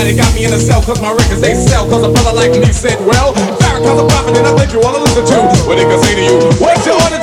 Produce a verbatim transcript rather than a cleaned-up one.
They got me in a cell cause my records they sell. Cause a brother like me said, well, Farrakhan's a prophet and I think you wanna listen to what they can say to you. What's your order?